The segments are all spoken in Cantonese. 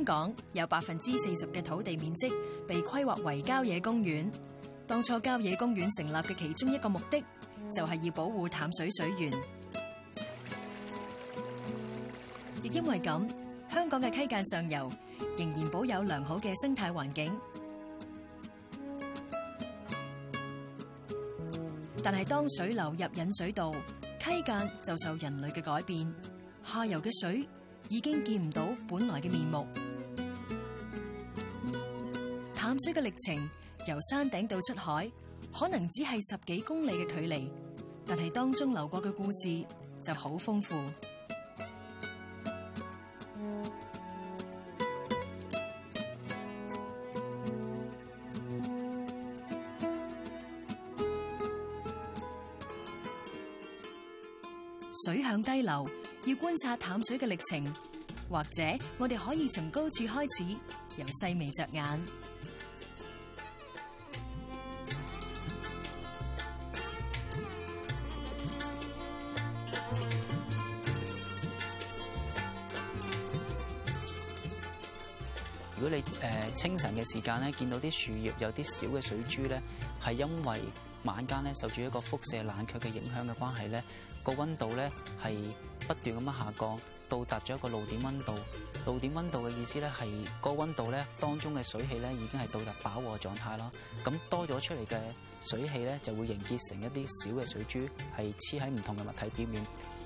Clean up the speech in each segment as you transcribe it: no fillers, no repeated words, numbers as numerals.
香港有40%嘅土地面積被規劃為郊野公園。當初郊野公園成立嘅其中一個目的，就係要保護淡水水源。亦因為咁，香港嘅溪澗上游仍然保有良好嘅生態環境。但係當水流入引水道，溪澗就受人類嘅改變，下游嘅水已經見唔到本來嘅面目。淡水嘅歷程由山頂到出海，可能只係10幾公里嘅距離，但係當中流過嘅故事就好豐富。水向低流，要觀察淡水嘅歷程，或者我哋可以從高處開始，由細微着眼。 如果你清晨嘅時間咧，見到啲樹葉有啲小嘅水珠咧，係因為晚間咧受住一個輻射冷卻嘅影響嘅關係咧，個溫度咧係不斷咁樣下降，到達咗一個露點溫度。露點溫度嘅意思咧係個溫度咧當中嘅水氣咧已經係到達飽和狀態啦。咁多咗出嚟嘅水氣咧就會凝結成一啲小嘅水珠，係黐喺唔同嘅物體表面。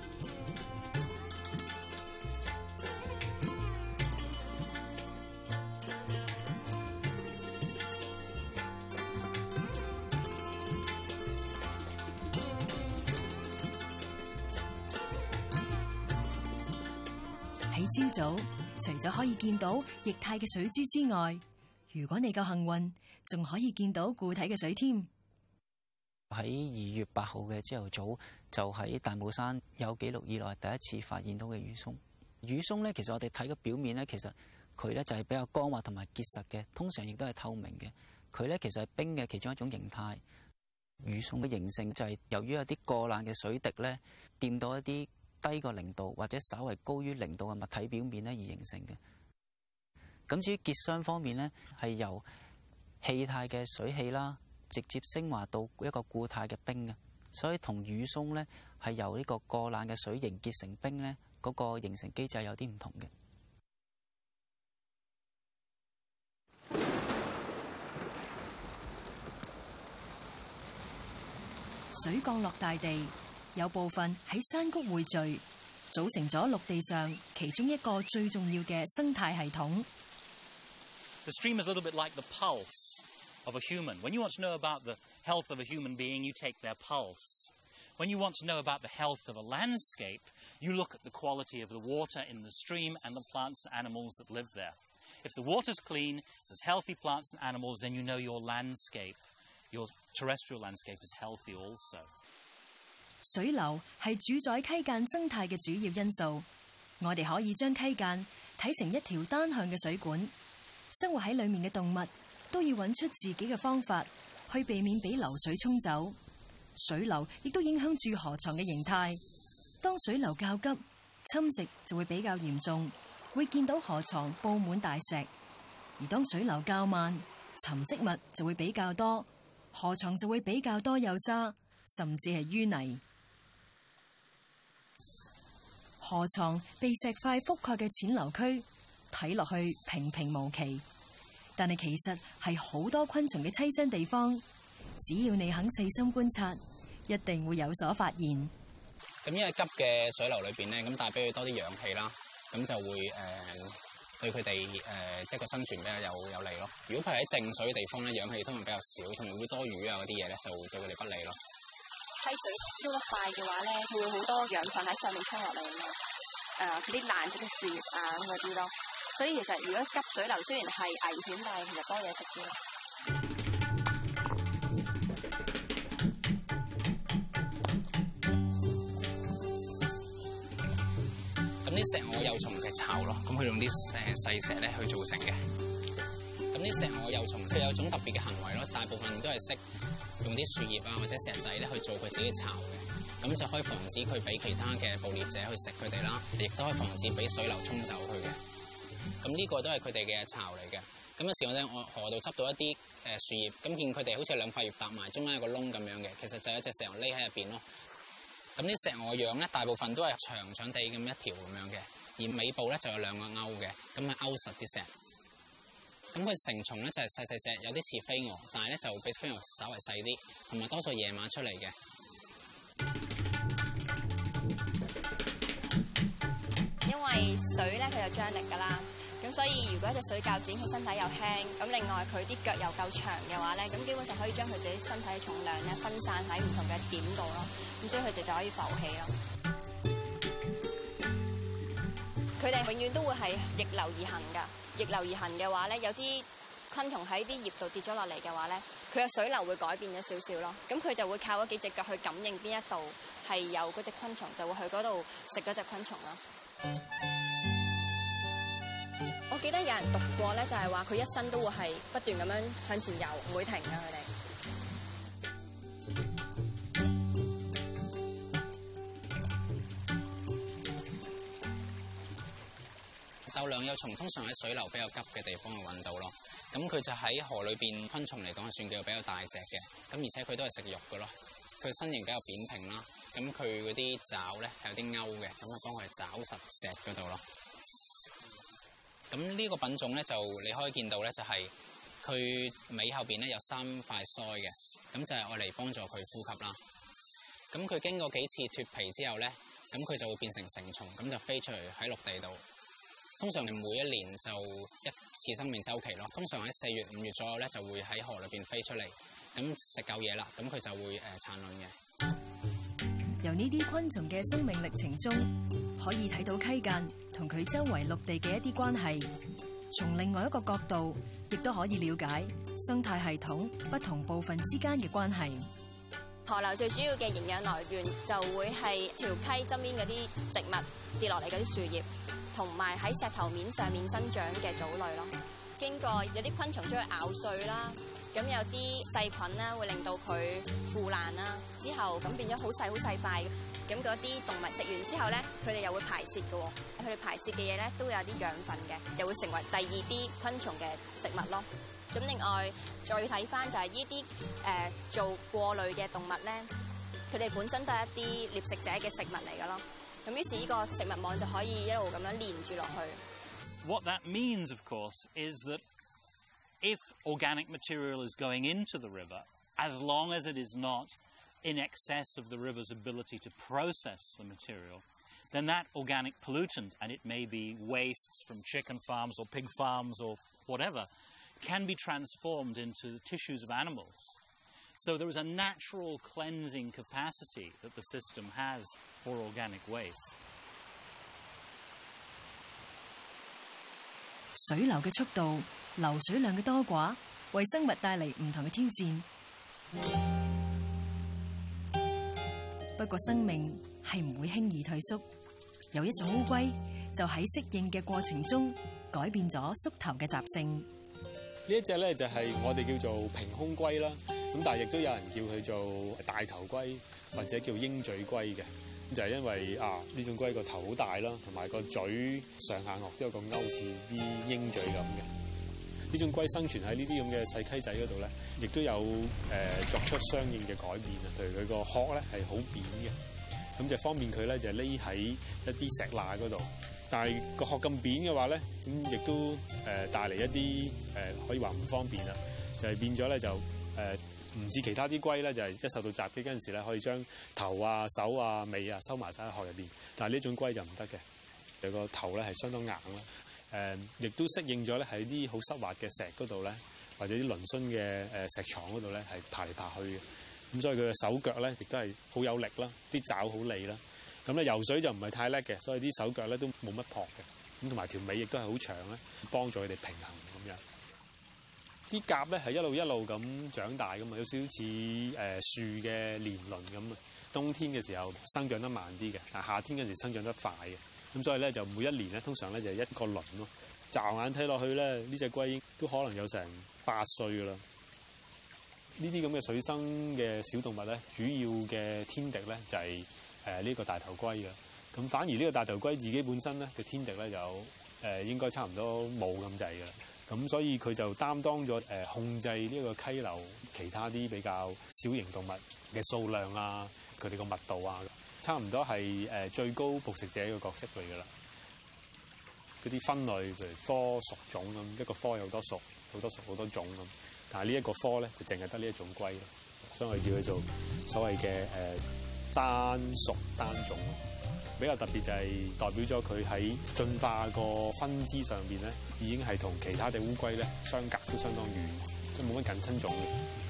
喺朝早，除咗可以見到液態嘅水珠之外，如果你夠幸運，仲可以見到固體嘅水添。 喺2月8號嘅朝頭早，就喺大帽山有紀錄以來第一次發現到嘅雨松。雨松咧，其實我哋睇個表面咧，其實佢咧就係比較光滑同埋結實嘅，通常亦都係透明嘅。佢咧其實係冰嘅其中一種形態。雨松嘅形成就係由於有啲過冷嘅水滴咧，掂到一啲低過0度或者稍為高於0度嘅物體表面咧而形成嘅。咁至於結霜方面咧，係由氣態嘅水氣啦，直接升華到一個固態嘅冰嘅，所以同雨松咧係由呢個過冷嘅水凝結成冰咧，嗰個形成機制有啲唔同嘅。 水降落大地，有部分喺山谷匯聚，組成咗陸地上其中一個最重要嘅生態系統。 The stream is a little bit like the pulse of a human. When you want to know about the health of a human being, you take their pulse. When you want to know about the health of a landscape, you look at the quality of the water in the stream and the plants and animals that live there. If the water's clean, there's healthy plants and animals, then you know your landscape, your terrestrial landscape is healthy also. 水流係主宰溪澗生態嘅主要因素。我哋可以將溪澗睇成一條單向嘅水管，生活喺裡面嘅動物都要揾出自己嘅方法，去避免俾流水沖走。水流亦都影響住河床嘅形態。當水流較急，侵蝕就會比較嚴重，會見到河床佈滿大石；而當水流較慢，沉積物就會比較多，河床就會比較多幼沙，甚至係淤泥。河床被石塊覆蓋嘅淺流區，睇落去平平無奇，但係其實係好多昆蟲嘅棲身地方。只要你肯細心觀察，一定會有所發現。 咁因為急嘅水流裏邊咧，咁帶俾佢多啲氧氣啦，咁就會對佢哋即係個生存比較有利咯。如果佢喺靜水嘅地方咧，氧氣通常比較少，同埋會多魚啊嗰啲嘢咧，就會對佢哋不利咯。 溪水飆得快嘅話咧，佢會好多養分喺上面衝落嚟啊嘛，嗰啲爛咗嘅樹葉啊咁嗰啲咯。所以其實如果急水流雖然係危險，但係其實多嘢食啲。 咁啲石蛾幼蟲嘅巢咯，咁佢用啲細石咧去造成嘅。咁啲石蛾幼蟲佢有種特別嘅行為咯，大部分都係識用啲樹葉啊或者石仔咧去做佢自己嘅巢嘅，咁就可以防止佢俾其他嘅捕獵者去食佢哋啦，亦都可以防止俾水流沖走佢嘅。 咁呢個都係佢哋嘅巢嚟嘅。咁有時我哋喺河度執到一啲樹葉，咁見佢哋好似兩塊葉搭埋，中間有個窿咁樣嘅，其實就有一隻石鵝匿喺入邊咯。咁啲石鵝樣咧，大部分都係長長地咁一條咁樣嘅，而尾部咧就有兩個勾嘅，咁係勾實啲石。咁佢成蟲咧就係細細隻，有啲似飛蛾，但係咧就比飛蛾稍為細啲，同埋多數夜晚出嚟嘅。 因為水咧佢有張力㗎啦，咁所以如果隻水較剪，佢身體又輕，咁另外佢啲腳又夠長嘅話咧，咁基本上可以將佢自己身體嘅重量咧分散喺唔同嘅點度咯，咁所以佢哋就可以浮起咯。佢哋永遠都會係逆流而行㗎，逆流而行嘅話咧，有啲昆蟲喺啲葉度跌咗落嚟嘅話咧，佢嘅水流會改變咗少少咯，咁佢就會靠嗰幾隻腳去感應邊一度係有嗰隻昆蟲，就會去嗰度食嗰隻昆蟲咯。我記得有人讀過咧，就係話佢一生都會係不斷咁樣向前游，唔會停㗎佢哋。 鬥兩幼蟲通常喺水流比較急嘅地方去揾到咯，咁佢就喺河裏邊昆蟲嚟講係算叫比較大隻嘅，咁而且佢都係食肉㗎咯，佢身形比較扁平啦，咁佢嗰啲爪咧係有啲勾嘅，咁啊幫佢爪實石嗰度咯。咁呢個品種咧就你可以見到咧，就係佢尾後邊咧有3塊腮嘅，咁就係愛嚟幫助佢呼吸啦。咁佢經過幾次脫皮之後咧，咁佢就會變成成蟲，咁就飛出嚟喺陸地度。通常你每一年就一次生命週期咯，通常喺4月、5月左右咧就會喺河裏邊飛出嚟，咁食夠嘢啦，咁佢就會產卵嘅。 由呢啲昆蟲嘅生命歷程中，可以睇到溪澗同佢周圍陸地嘅一啲關係。從另外一個角度，亦都可以了解生態系統不同部分之間嘅關係。 河流最主要嘅營養來源就會係條溪側邊嗰啲植物跌落嚟嗰啲樹葉，同埋喺石頭面上面生長嘅藻類咯。經過有啲昆蟲將佢咬碎啦，咁有啲細菌啦會令到佢腐爛啦，之後咁變咗好細塊。咁嗰啲動物食完之後咧，佢哋又會排泄嘅喎。佢哋排泄嘅嘢咧都會有啲養分嘅，又會成為第二啲昆蟲嘅食物咯。咁另外再睇翻就係呢啲做過濾嘅動物咧，佢哋本身都係一啲獵食者嘅食物嚟嘅咯。咁於是呢個食物網就可以一路咁樣連住落去。 What that means, of course, is that if organic material is going into the river, as long as it is not in excess of the river's ability to process the material, then that organic pollutant, and it may be wastes from chicken farms or pig farms or whatever, can be transformed into the tissues of animals. So there is a natural cleansing capacity that the system has for organic waste. 水流嘅速度、流水量嘅多寡，為生物帶嚟唔同嘅挑戰。不過生命係唔會輕易退縮，有一種烏龜就喺適應嘅過程中改變咗縮頭嘅習性。 呢一隻咧就係我哋叫做平胸龜啦，咁但係亦都有人叫佢做大頭龜或者叫鷹嘴龜嘅，咁就係因為呢種龜個頭好大啦，同埋個嘴上下顎都有個勾似啲鷹嘴咁嘅。呢種龜生存喺呢啲咁嘅細溪仔嗰度咧，亦都有作出相應嘅改變啊。譬如佢個殼咧係好扁嘅，咁就方便佢咧就匿喺一啲石罅嗰度。但係個殼咁扁嘅話咧，咁亦都帶嚟一啲可以話唔方便啦，就係變咗咧就唔似其他啲龜咧，就係一受到襲擊嗰陣時咧，可以將頭啊、手啊、尾啊收埋晒喺殼入邊。但係呢種龜就唔得嘅，佢個頭咧係相當硬啦，亦都適應咗咧喺啲好濕滑嘅石嗰度咧，或者啲嶙峋嘅石床嗰度咧係爬嚟爬去嘅。咁所以佢嘅手腳咧亦都係好有力啦，啲爪好利啦。咁咧游水就唔係太叻嘅，所以啲手腳咧都冇乜蹼嘅，咁同埋條尾亦都係好長咧，幫助佢哋平衡咁樣。啲甲咧係一路咁長大噶嘛，有少少似樹嘅年輪咁啊。冬天嘅時候生長得慢啲嘅，但係夏天嗰時生長得快嘅。咁所以咧就每一年咧通常咧就一個輪咯。驟眼睇落去咧，呢隻龜都可能有成8歲噶啦。呢啲咁嘅水生嘅小動物咧，主要嘅天敵咧就係呢個大頭龜嘅。咁反而呢個大頭龜自己本身咧嘅天敵咧有應該差唔多冇咁滯嘅啦。咁所以佢就擔當咗控制呢個溪流其他啲比較小型動物嘅數量啊，佢哋個密度啊，差唔多係最高捕食者嘅角色嚟㗎啦。嗰啲分類，譬如科屬種咁，一個科有好多屬，好多屬好多種咁。但係呢一個科咧，就淨係得呢一種龜咯，所以我哋叫佢做所謂嘅單屬單種。比較特別就係代表咗佢喺進化個分支上邊咧，已經係同其他隻烏龜咧相隔都相當遠，即係冇乜近親種嘅。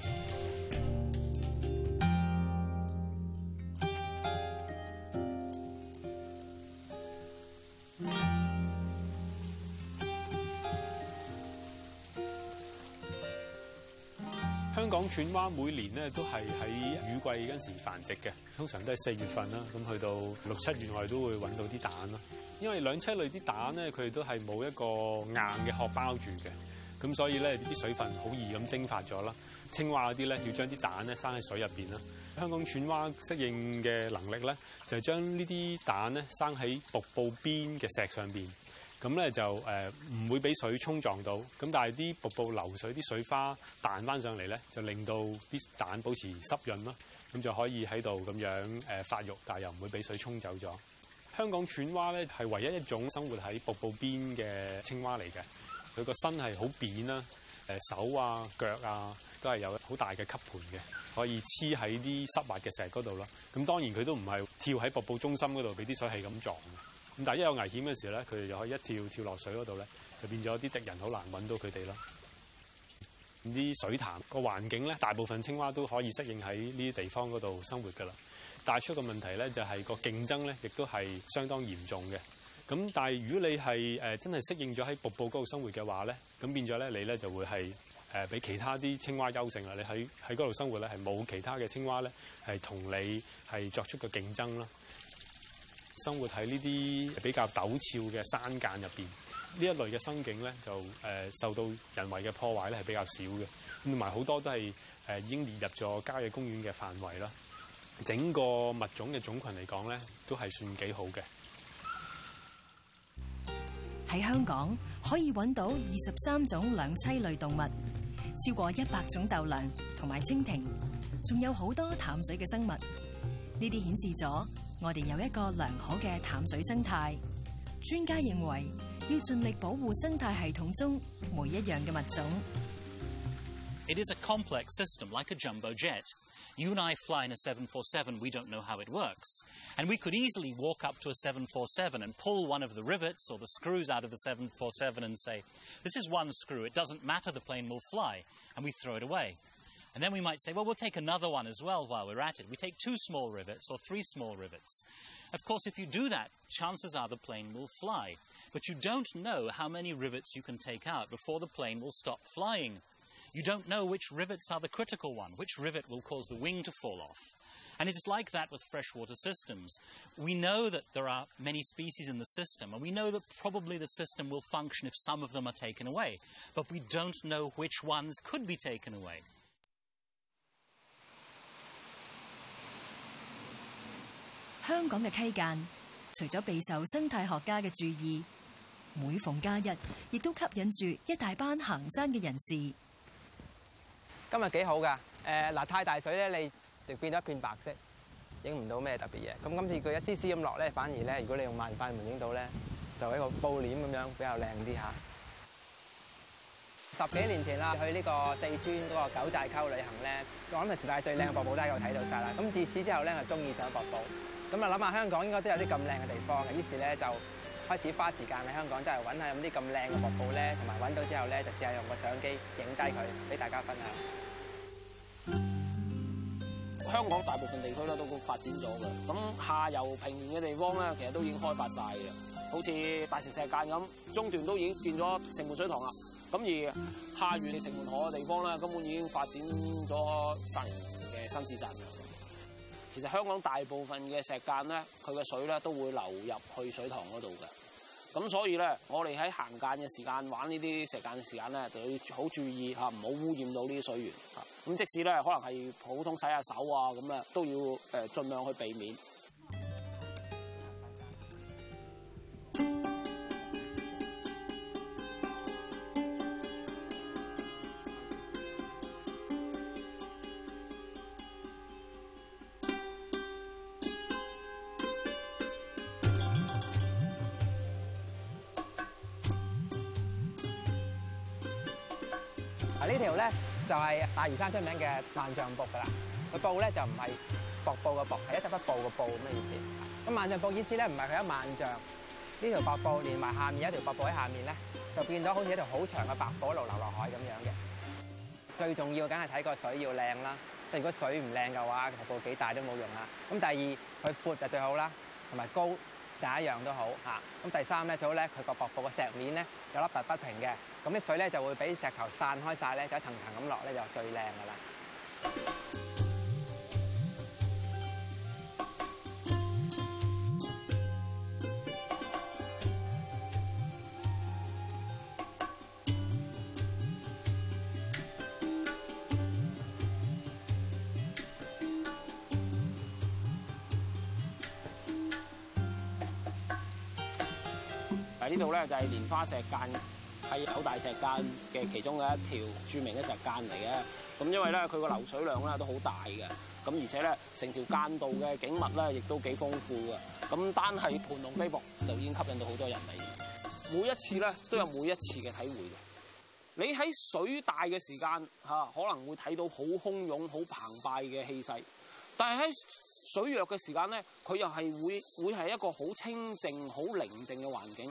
香港犬蛙每年咧都係喺雨季嗰陣時繁殖嘅，通常都係4月份啦，咁去到6、7月我哋都會揾到啲蛋咯。因為兩棲類啲蛋咧，佢哋都係冇一個硬嘅殼包住嘅，咁所以咧啲水分好易咁蒸發咗啦。青蛙嗰啲咧要將啲蛋咧生喺水入邊啦。香港犬蛙適應嘅能力咧，就係將呢啲蛋咧生喺瀑布邊嘅石上邊。咁咧就唔會俾水沖撞到，咁但係啲瀑布流水啲水花彈翻上嚟咧，就令到啲蛋保持濕潤咯，咁就可以喺度咁樣發育，但係又唔會俾水沖走咗。香港犬蛙咧係唯一一種生活喺瀑布邊嘅青蛙嚟嘅，佢個身係好扁啦，手啊腳啊都係有好大嘅吸盤嘅，可以黐喺啲濕滑嘅石嗰度咯。咁當然佢都唔係跳喺瀑布中心嗰度俾啲水係咁撞嘅。咁但係一有危險嘅時候咧，佢哋就可以一跳落水嗰度咧，就變咗啲敵人好難揾到佢哋咯。啲水潭個環境咧，大部分青蛙都可以適應喺呢啲地方嗰度生活㗎啦。帶出個問題咧，就係個競爭咧，亦都係相當嚴重嘅。咁但係如果你係真係適應咗喺瀑布嗰度生活嘅話咧，咁變咗咧你咧就會係比其他啲青蛙優勝啦。你喺嗰度生活咧，係冇其他嘅青蛙咧係同你係作出個競爭啦。生活喺呢啲比較陡峭嘅山澗入邊，呢一類嘅生境咧就受到人為嘅破壞咧係比較少嘅，同埋好多都係已經列入咗郊野公園嘅範圍啦。整個物種嘅種群嚟講咧，都係算幾好嘅。 喺香港可以揾到23種兩棲類動物，超過100種豆娘同埋蜻蜓，仲有好多淡水嘅生物。呢啲顯示咗我哋有一個良好嘅淡水生態。專家認為要盡力保護生態系統中每一樣嘅物種。 It is a complex system, like a jumbo jet. You and I fly in a 747, we don't know how it works. And we could easily walk up to a 747 and pull one of the rivets or the screws out of the 747 and say, this is one screw, it doesn't matter, the plane will fly, and we throw it away. And then we might say, well, we'll take another one as well while we're at it. We take 2 small rivets or 3 small rivets. Of course, if you do that, chances are the plane will fly. But you don't know how many rivets you can take out before the plane will stop flying. You don't know which rivets are the critical one, which rivet will cause the wing to fall off. And it is like that with freshwater systems. We know that there are many species in the system, and we know that probably the system will function if some of them are taken away. But we don't know which ones could be taken away. 香港嘅溪澗，除咗備受生態學家嘅注意，每逢假日，亦都吸引住一大班行山嘅人士。 今日幾好㗎，太大水咧，你就變咗一片白色，影唔到咩特別嘢。咁今次佢一絲絲咁落咧，反而咧，如果你用慢快門影到咧，就一個布簾咁樣比較靚啲嚇。10幾年前啦，去呢個四川嗰個九寨溝旅行咧，我諗係全世界最靚嘅瀑布都喺度睇到晒啦。咁自此之後咧，我中意上瀑布。咁啊諗下香港應該都有啲咁靚嘅地方嘅，於是咧就開始花時間喺香港真係揾下有啲咁靚嘅瀑布咧，同埋揾到之後咧就試下用個相機影低佢，俾大家分享。 香港大部分地區咧都發展咗嘅，咁下游平原嘅地方咧其實都已經開發晒嘅，好似大城石澗咁，中段都已經變咗城門水塘啦。咁而下沿城門河嘅地方咧，根本已經發展咗3年嘅新市鎮嘅。其實香港大部分嘅石澗咧，佢嘅水咧都會流入去水塘嗰度嘅。咁所以咧，我哋喺行澗嘅時間玩呢啲石澗嘅時間咧，就要好注意嚇，唔好污染到呢啲水源嚇。咁即使咧可能係普通洗下手啊咁啊，都要盡量去避免。 呢條咧就係大嶼山出名嘅萬丈瀑㗎啦。個瀑咧就唔係瀑布嘅瀑，係一匹布嘅布咁嘅意思。咁萬丈瀑意思咧唔係佢一萬丈，呢條瀑布連埋下面有一條瀑布喺下面咧，就變咗好似一條好長嘅白布一路流落海咁樣嘅。最重要梗係睇個水要靚啦，即係如果水唔靚嘅話，瀑布幾大都冇用啦。咁第二佢闊就最好啦，同埋高第一樣都好嚇。咁第三咧最好咧，佢個瀑布個石面咧有凹凸不平嘅，咁啲水咧就會俾石頭散開晒咧，就一層層咁落咧就最靚㗎啦。 呢度咧就係蓮花石澗，係九大石澗嘅其中嘅一條著名嘅石澗嚟嘅。咁因為咧佢個流水量咧都好大嘅，咁而且咧成條澗道嘅景物咧亦都幾豐富嘅。咁單係盤龍飛瀑就已經吸引到好多人嚟。每一次咧都有每一次嘅體會嘅。你喺水大嘅時間嚇可能會睇到好洶湧、好澎湃嘅氣勢，但係喺水弱嘅時間咧，佢又係會係一個好清靜、好寧靜嘅環境。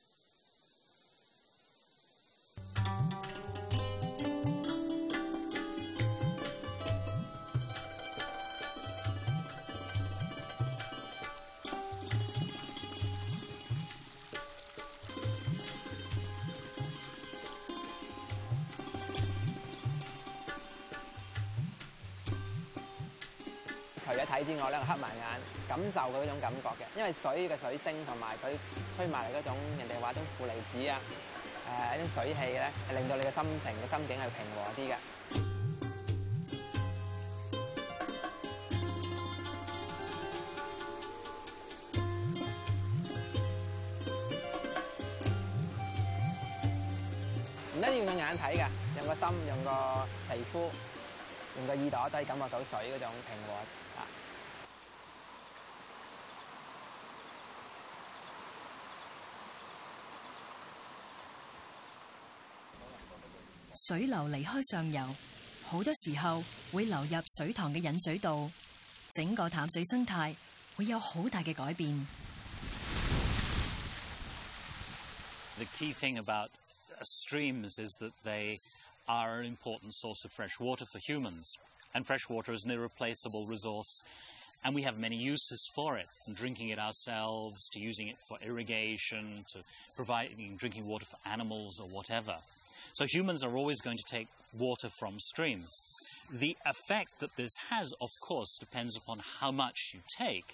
除咗睇之外咧，黑埋眼感受佢嗰種感覺嘅，因為水嘅水聲同埋佢吹埋嚟嗰種人哋話種負離子啊，一啲水氣咧，係令到你嘅心情嘅心境係平和啲嘅。唔一定要用眼睇㗎，用個心，用個皮膚，用個耳朵都可以感覺到水嗰種平和啊！ 水流離開上游，好多時候會流入水塘嘅引水道，整個淡水生態會有好大嘅改變。 The key thing about streams is that they are an important source of fresh water for humans, and fresh water is an irreplaceable resource, and we have many uses for it, from drinking it ourselves to using it for irrigation to providing drinking water for animals or whatever. So humans are always going to take water from streams. The effect that this has, of course, depends upon how much you take.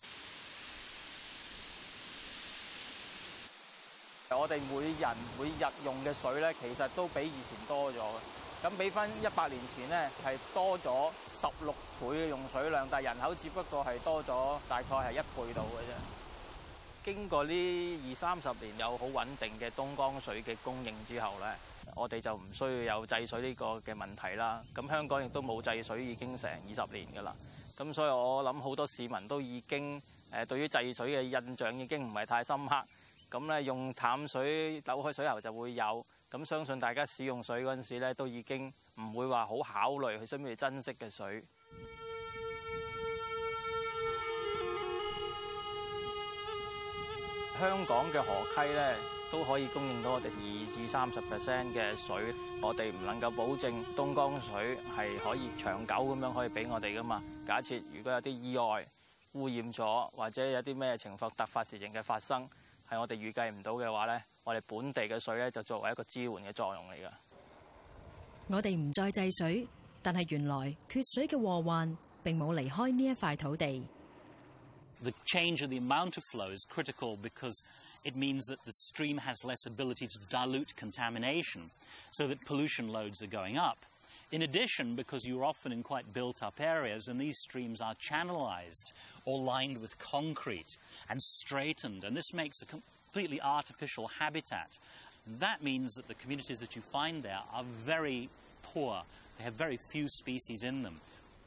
我哋每人每日用嘅水咧，其實都比以前多咗嘅。咁比翻100年前咧，係多咗16倍嘅用水量，但係人口只不過係多咗大概係1倍度嘅啫。經過呢20-30年有好穩定嘅東江水嘅供應之後咧，我哋就唔需要有制水呢個嘅問題啦。咁香港亦都冇制水已經成20年㗎啦。咁所以我諗好多市民都已經對於制水嘅印象已經唔係太深刻。咁咧用淡水扭開水喉就會有，咁相信大家使用水嗰陣時咧，都已經唔會話好考慮佢需唔需要珍惜嘅水。香港嘅河溪咧都可以供應到我哋20-30% 嘅水，我哋唔能夠保證東江水係可以長久咁樣可以俾我哋噶嘛。假設如果有啲意外污染咗，或者有啲咩情況突發事情嘅發生，係我哋預計唔到嘅話咧，我哋本地嘅水咧就作為一個支援嘅作用嚟㗎。 我哋唔再制水，但係原來缺水嘅禍患並冇離開呢一塊土地。 The change in the amount of flow is critical because it means that the stream has less ability to dilute contamination, so that pollution loads are going up. In addition, because you're often in quite built-up areas, and these streams are channelized or lined with concrete and straightened, and this makes a completely artificial habitat. That means that the communities that you find there are very poor. They have very few species in them.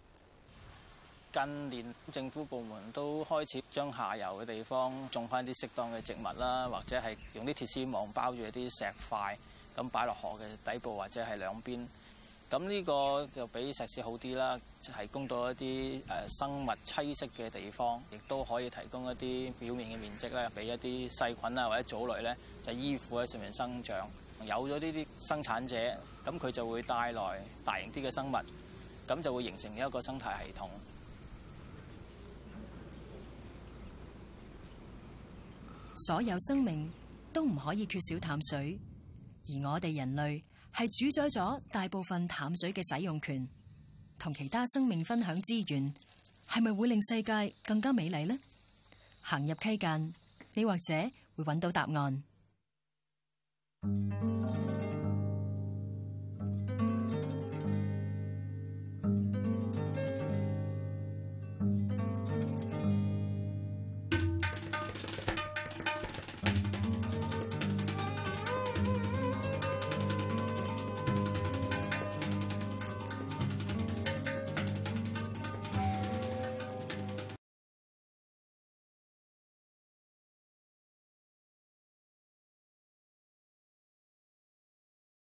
近年政府部門都開始將下游嘅地方種翻啲適當嘅植物啦，或者係用啲鐵絲網包住一啲石塊，咁擺落河嘅底部或者係兩邊。 咁呢個就比石屎好啲啦，提供到一啲生物棲息嘅地方，亦都可以提供一啲表面嘅面積咧，俾一啲細菌啊或者藻類咧就依附喺上面生長。有咗呢啲生產者，咁佢就會帶來大型啲嘅生物，咁就會形成一個生態系統。 所有生命都唔可以缺少淡水，而我哋人類係主宰咗大部分淡水嘅使用權，同其他生命分享資源，係咪會令世界更加美麗呢？行入溪澗，你或者會揾到答案。